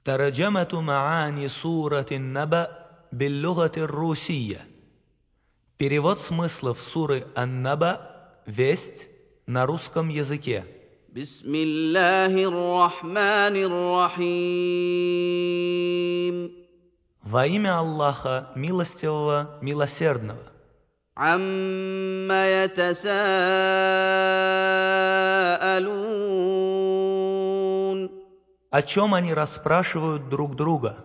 ترجمة معاني سورة النبأ باللغة الروسية. Перевод смыслов суры Ан-Наба, Весть, на русском языке. Бисмиллахир-рахманир-рахим. Во имя Аллаха, милостивого, милосердного. Амма ятасаалун. О чем они расспрашивают друг друга?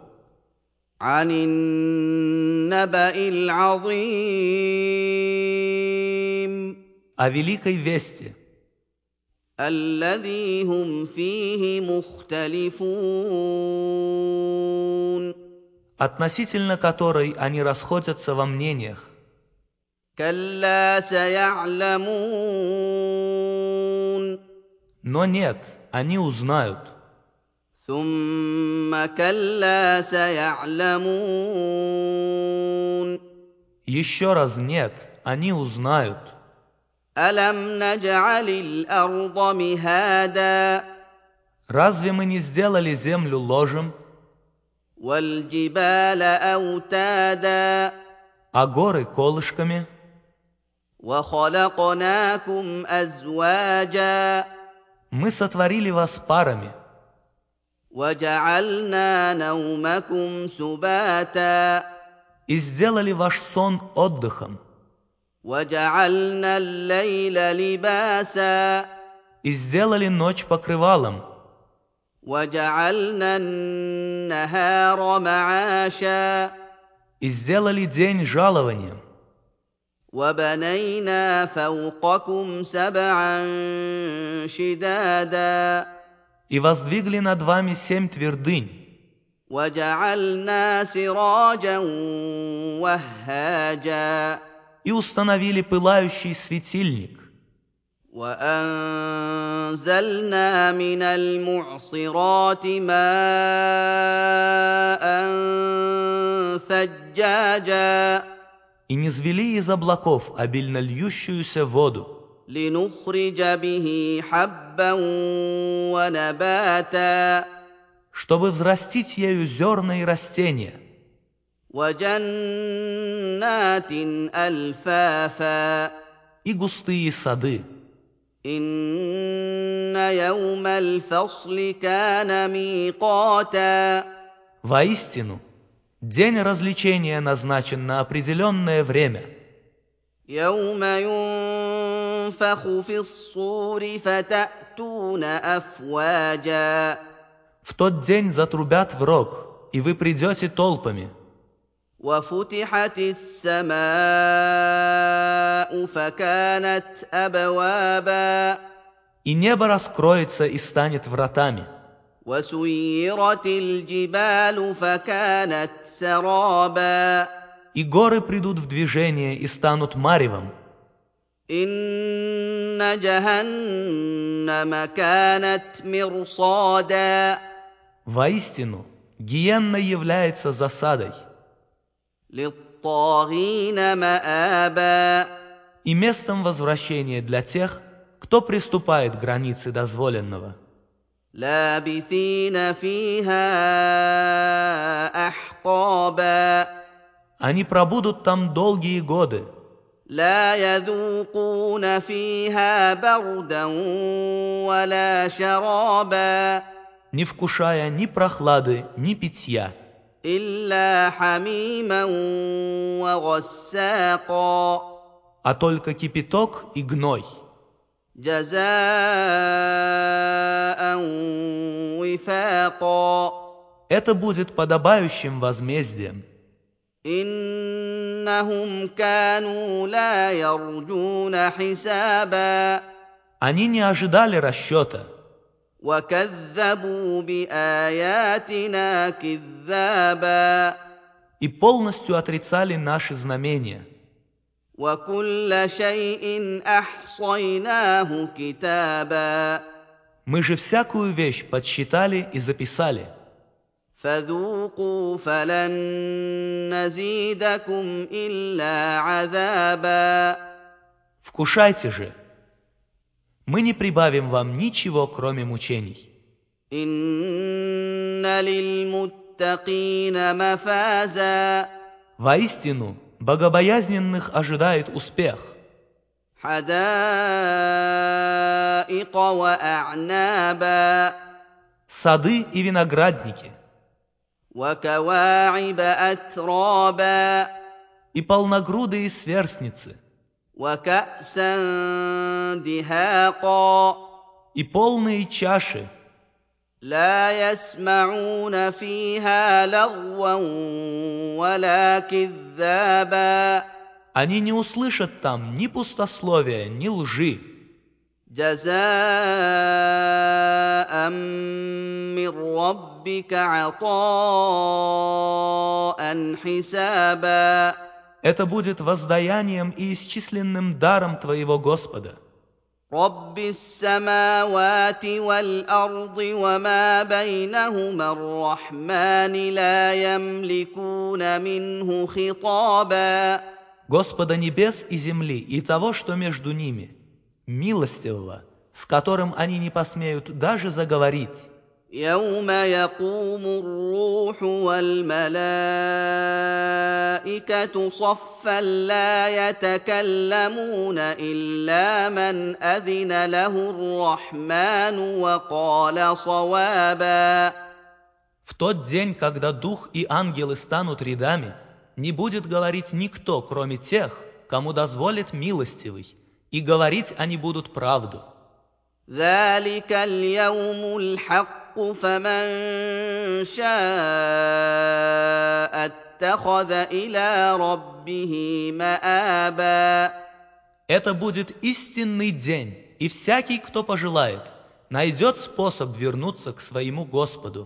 Анин-наба'ил-азим. О великой вести, الذي هم فيه مختلفون относительно которой они расходятся во мнениях. كلا سيعلمون Но нет, они узнают. ثم كلا سيعلمون Еще раз нет, они узнают. ألم نجعل الأرض مهادا Разве мы не сделали землю ложем, والجبال أوتادا а горы колышками? وخلقناكم أزواجا Мы сотворили вас парами وجعلنا نومكم سباتا и сделали ваш сон отдыхом, وجعلنا الليل لباسا и сделали ночь покрывалом, وجعلنا النهار معاشا и сделали день жалованием, وبنينا فوقكم سبعا شدادا и воздвигли над вами 7 твердынь, وجعلنا سراجا وهاجا и установили пылающий светильник, وأنزلنا من المعصرات ماء ثجاجا и низвели из облаков обильно льющуюся воду, لنخرج به حبا ونباتا чтобы взрастить ею зерна и растения, وجنات ألفافا и густые сады. إن يوم الفصل كان ميقاتا Воистину, день развлечения назначен на определенное время. يوم ينفخ في الصور فتأتون أفواجا В тот день затрубят в рог, и вы придете толпами. وفتحت السماء فكانت أبوابا И небо раскроется и станет вратами. وسيرت الجبال فكانت سرابا И горы придут в движение и станут маревом. إن جهنم كانت مرصادا Воистину, гиенна является засадой للطاغين مآبا и местом возвращения для тех, кто приступает границы дозволенного. لابثين فيها أحقابا Они пробудут там долгие годы, لا يذوقون فيها بردا ولا شرابا не вкушая ни прохлады, ни питья, إلا حميما وغساقا а только кипяток и гной, جزاء وفاقا это будет подобающим возмездием. إنهم كانوا لا يرجون حسابا Они не ожидали расчета وكذبوا بآياتنا كذابا и полностью отрицали наши знамения. وكل شيء أحصيناه كتابا Мы же всякую вещь подсчитали и записали. فذوقوا فلن نزيدكم إلا عذابا Вкушайте же. Мы не прибавим вам ничего, кроме мучений. إن للمتقين مفازا Воистину, богобоязненных ожидает успех. حدائق وأعنابا Сады и виноградники, وكواعب أترابا и полногрудые сверстницы, وكأسا دهاقا и полные чаши. لا يسمعون فيها لغوا ولا كذابا Они не услышат там ни пустословия, ни лжи. جزاء من ربك عطاء حسابا Это будет воздаянием и исчисленным даром твоего Господа. رب السماوات والأرض وما بينهما الرحمن لا يملكون منه خطابا Господа небес и земли и того, что между ними, милостивого, с которым они не посмеют даже заговорить. يوم يقوم الروح والملائكة صفا لا يتكلمون إلا من أذن له الرحمن وقال صوابا В тот день, когда дух и ангелы станут рядами, не будет говорить никто, кроме тех, кому дозволит милостивый, и говорить они будут правду. ذلك اليوم الحق فمن شاء اتخذ إلى ربه مآبا Это будет истинный день, и всякий, кто пожелает, найдет способ вернуться к своему Господу.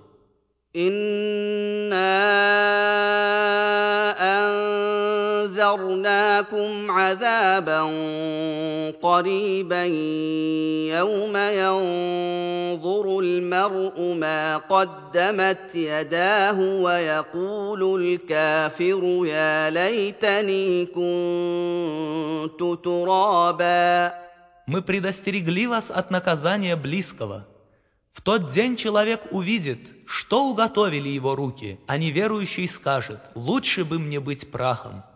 أنذرناكم عذابا قريبا يوم ينظر المرء ما قدمت يداه ويقول الكافر يا ليتني كنت ترابا Мы предостерегли вас от наказания близкого. В тот день человек увидит, что уготовили его руки, а неверующий скажет: «Лучше бы мне быть прахом».